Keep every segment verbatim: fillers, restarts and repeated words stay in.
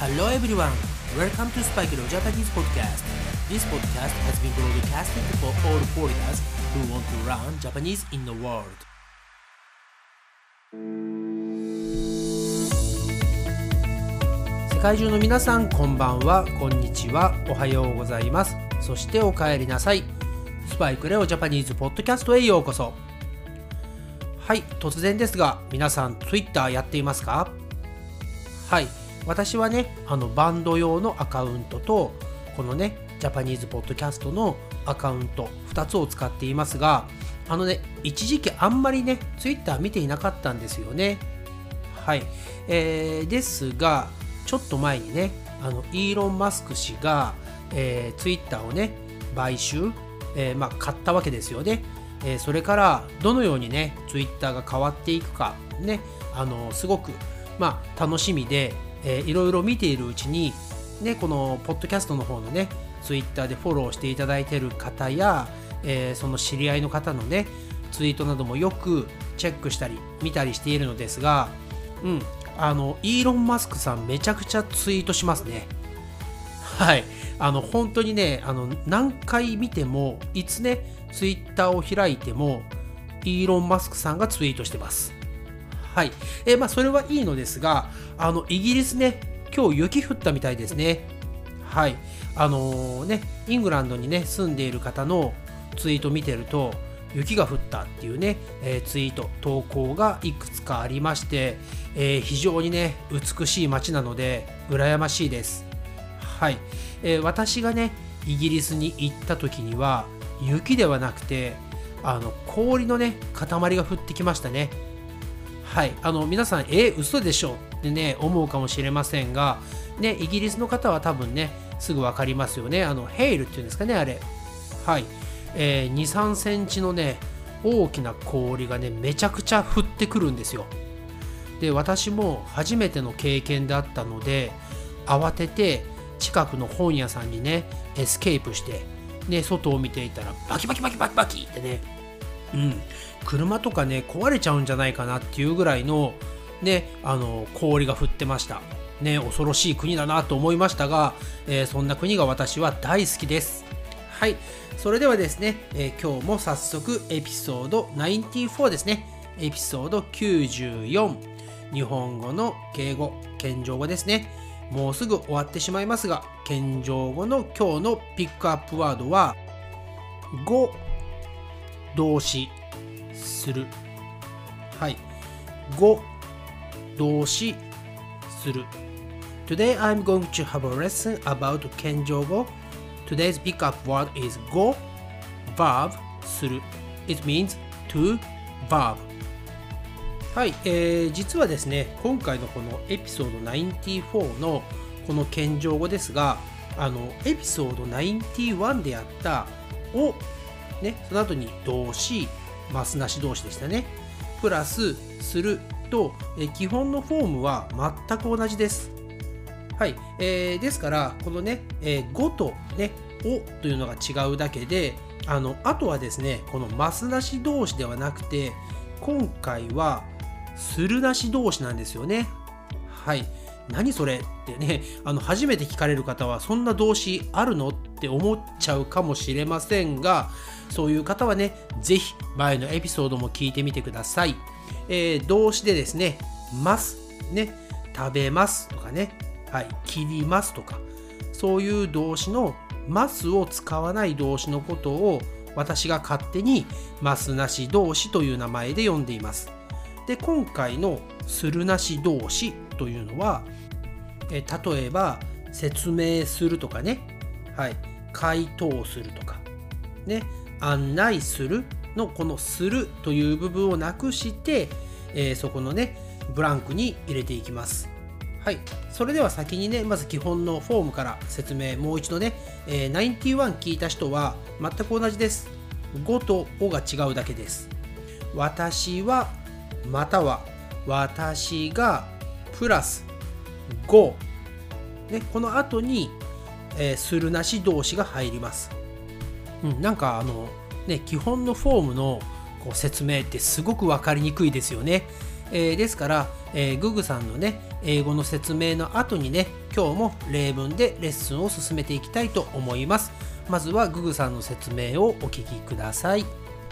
Hello everyone, welcome to Spike Leo Japanese Podcast. This podcast has been broadcasted for all foreigners who want to learn Japanese in the world. 世界中の皆さん、こんばんは、こんにちは、おはようございます。そしてお帰りなさい。スパイクレオジャパニーズポッドキャストへようこそ。はい、突然ですが、皆さん Twitter やっていますか？はい、私はね、あのバンド用のアカウントと、このね、ジャパニーズポッドキャストのアカウントふたつを使っていますが、あのね、一時期あんまりね、Twitter 見ていなかったんですよね。はい、えー、ですが、ちょっと前にね、あのイーロン・マスク氏が、えー、Twitter をね、買収、えーまあ、買ったわけですよね。えー、それからどのようにね Twitter が変わっていくかね、あのすごく、まあ、楽しみで、えー、いろいろ見ているうちに、ね、このポッドキャストの方のね Twitter でフォローしていただいている方や、えー、その知り合いの方のねツイートなどもよくチェックしたり見たりしているのですが、うん、あのイーロン・マスクさんめちゃくちゃツイートしますね。はい、あの本当にね、あの何回見てもいつねツイッターを開いてもイーロン・マスクさんがツイートしてます。はい、えー、まあそれはいいのですが、あのイギリスね、今日雪降ったみたいですね。はい、あのー、ね、イングランドにね住んでいる方のツイート見てると、雪が降ったっていうね、えー、ツイート投稿がいくつかありまして、えー、非常にね美しい街なので羨ましいです。はい、えー、私がねイギリスに行った時には雪ではなくて、あの氷のね塊が降ってきましたね。はい、あの皆さん、えー、嘘でしょってね思うかもしれませんが、ね、イギリスの方は多分ねすぐ分かりますよね。あのヘイルっていうんですかね、あれ。はい、えー、に、さんセンチのね大きな氷がねめちゃくちゃ降ってくるんですよ。で、私も初めての経験であったので、慌てて近くの本屋さんにねエスケープしてね、外を見ていたらバキバキバキバキバキってね、うん、車とかね壊れちゃうんじゃないかなっていうぐらいのね、あの氷が降ってましたね。恐ろしい国だなと思いましたが、えー、そんな国が私は大好きです。はい、それではですね、えー、今日も早速エピソードきゅうじゅうよんですね。エピソードきゅうじゅうよん、日本語の敬語、謙譲語ですね。もうすぐ終わってしまいますが、謙譲語の今日のピックアップワードは語、動詞、する。はい、語、動詞、する。Today I'm going to have a lesson about 謙譲語。Today's pickup word is 語、verb、する。It means to verb。はい、えー、実はですね、今回のこのエピソードきゅうじゅうよんのこの謙譲語ですが、あのエピソードきゅうじゅういちでやったを、ね、その後に動詞、ますなし動詞でしたね。プラスすると、え基本のフォームは全く同じです。はい、えー、ですからこのね、えー、語とね、をというのが違うだけで、あのあとはですね、このますなし動詞ではなくて、今回はするなし動詞なんですよね。はい、何それってね、あの初めて聞かれる方はそんな動詞あるのって思っちゃうかもしれませんが、そういう方はね、ぜひ前のエピソードも聞いてみてください。えー、動詞でですね、ますね、食べますとかね、はい、切りますとか、そういう動詞のますを使わない動詞のことを私が勝手にますなし動詞という名前で呼んでいます。で、今回のするなし動詞というのは、え例えば説明するとかね、はい、回答するとか、ね、案内するのこのするという部分をなくして、えー、そこのねブランクに入れていきます。はい、それでは先にね、まず基本のフォームから説明、もう一度ね、えー、きゅうじゅういち聞いた人は全く同じです。語とおが違うだけです。私はまたは私がプラス語、ね、この後に、えー、するなし動詞が入ります。うん、なんかあのね、基本のフォームのこう説明ってすごく分かりにくいですよね。えー、ですから、えー、ググさんのね英語の説明の後にね、今日も例文でレッスンを進めていきたいと思います。まずはググさんの説明をお聞きください。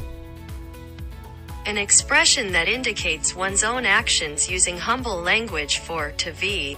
An expression that indicates one's own actions using humble language for to be.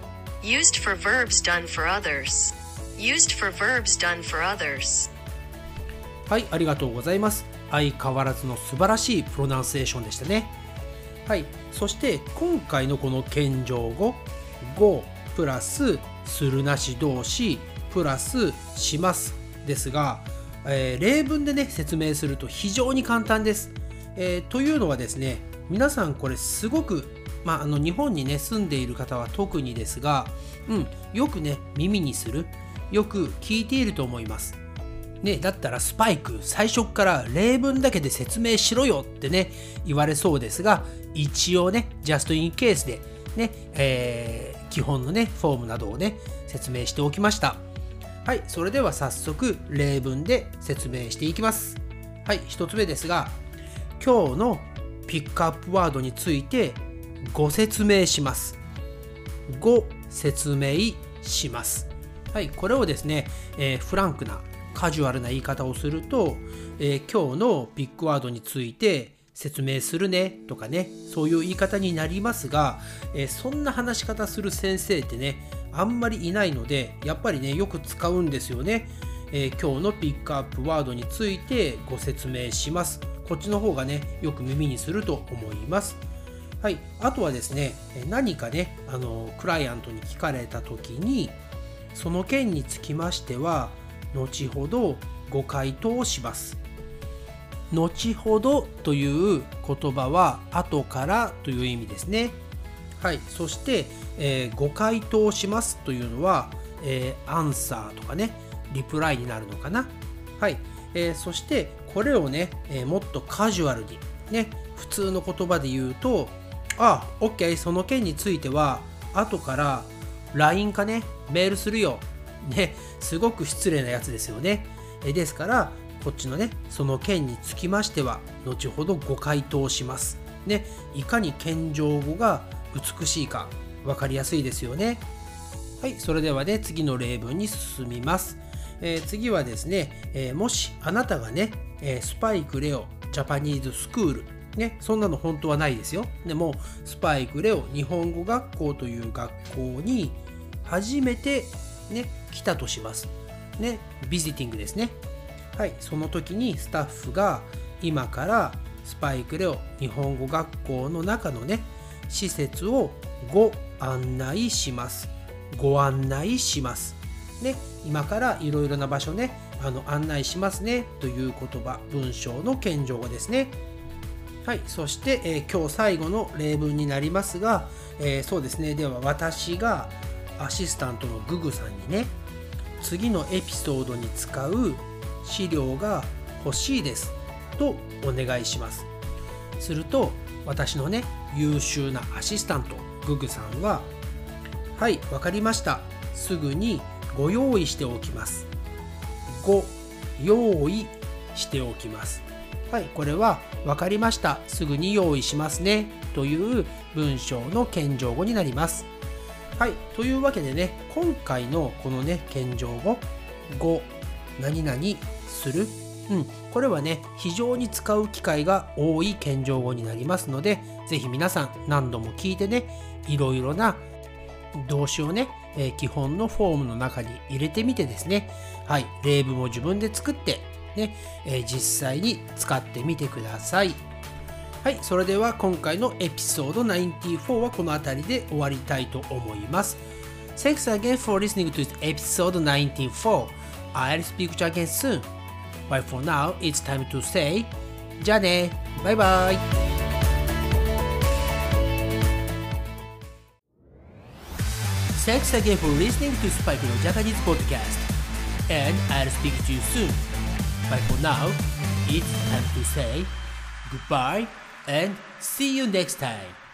Used for verbs done for others. Used for verbs done for others. はい、ありがとうございます。相変わらずの素晴らしいプロナンセーションでしたね。はい、そして今回のこの謙譲語、goプラスするなし動詞プラスしますですが、えー、例文でね説明すると非常に簡単です。えー、というのはですね、皆さんこれすごく、まあ、あの日本にね住んでいる方は特にですが、うん、よくね耳にする、よく聞いていると思います。ね、だったらスパイク最初から例文だけで説明しろよってね言われそうですが、一応ね just in case でね、えー、基本のねフォームなどをね説明しておきました。はい、それでは早速例文で説明していきます。はい、一つ目ですが、今日のピックアップワードについてご説明します。ご説明します。はい、これをですね、えー、フランクなカジュアルな言い方をすると、えー、今日のピックワードについて説明するねとかね、そういう言い方になりますが、えー、そんな話し方する先生ってねあんまりいないので、やっぱりねよく使うんですよね。えー、今日のピックアップワードについてご説明します。こっちの方がねよく耳にすると思います。はい、あとはですね、何かねあのクライアントに聞かれた時に、その件につきましては後ほどご回答します。後ほどという言葉は後からという意味ですね。はい、そして、えー、ご回答しますというのは、えー、アンサーとかねリプライになるのかな。はい、えー、そしてこれをね、えー、もっとカジュアルにね普通の言葉で言うと、あ、OK、その件については後から ライン かねメールするよね、すごく失礼なやつですよね。えですからこっちのねその件につきましては後ほどご回答しますね。いかに謙譲語が美しいか分かりやすいですよね。はい、それではね次の例文に進みます。えー、次はですね、えー、もしあなたがね、えー、スパイクレオジャパニーズスクールね、そんなの本当はないですよ。でもスパイクレオ日本語学校という学校に初めてね来たとしますね。ビジティングですね。はい、その時にスタッフが今からスパイクレオ日本語学校の中のね施設をご案内します。ご案内しますね。今からいろいろな場所ねあの案内しますねという言葉、文章の謙譲語ですね。はい、そして、えー、今日最後の例文になりますが、えー、そうですね、では私がアシスタントのググさんにね次のエピソードに使う資料が欲しいですとお願いします。すると私のね優秀なアシスタントググさんは、はい、わかりました、すぐにご用意しておきます。ご用意しておきます。はい、これはわかりました、すぐに用意しますねという文章の謙譲語になります。はい、というわけでね、今回のこのね謙譲語ご何々する、うん、これはね非常に使う機会が多い謙譲語になりますので、ぜひ皆さん何度も聞いてね、いろいろな動詞をね、えー、基本のフォームの中に入れてみてですね、はい、例文を自分で作ってね、えー、実際に使ってみてください。はい、それでは今回のエピソードナインティフォーはこの辺りで終わりたいと思います。Thanks again for listening to episode ninety-four. I'll speak to you again soon. But for now, it's time to say じゃあね、バイバイ。Thanks again for listening to Spike no Japanese podcast. And I'll speak to you soon. But for now, it's time to say goodbye and see you next time.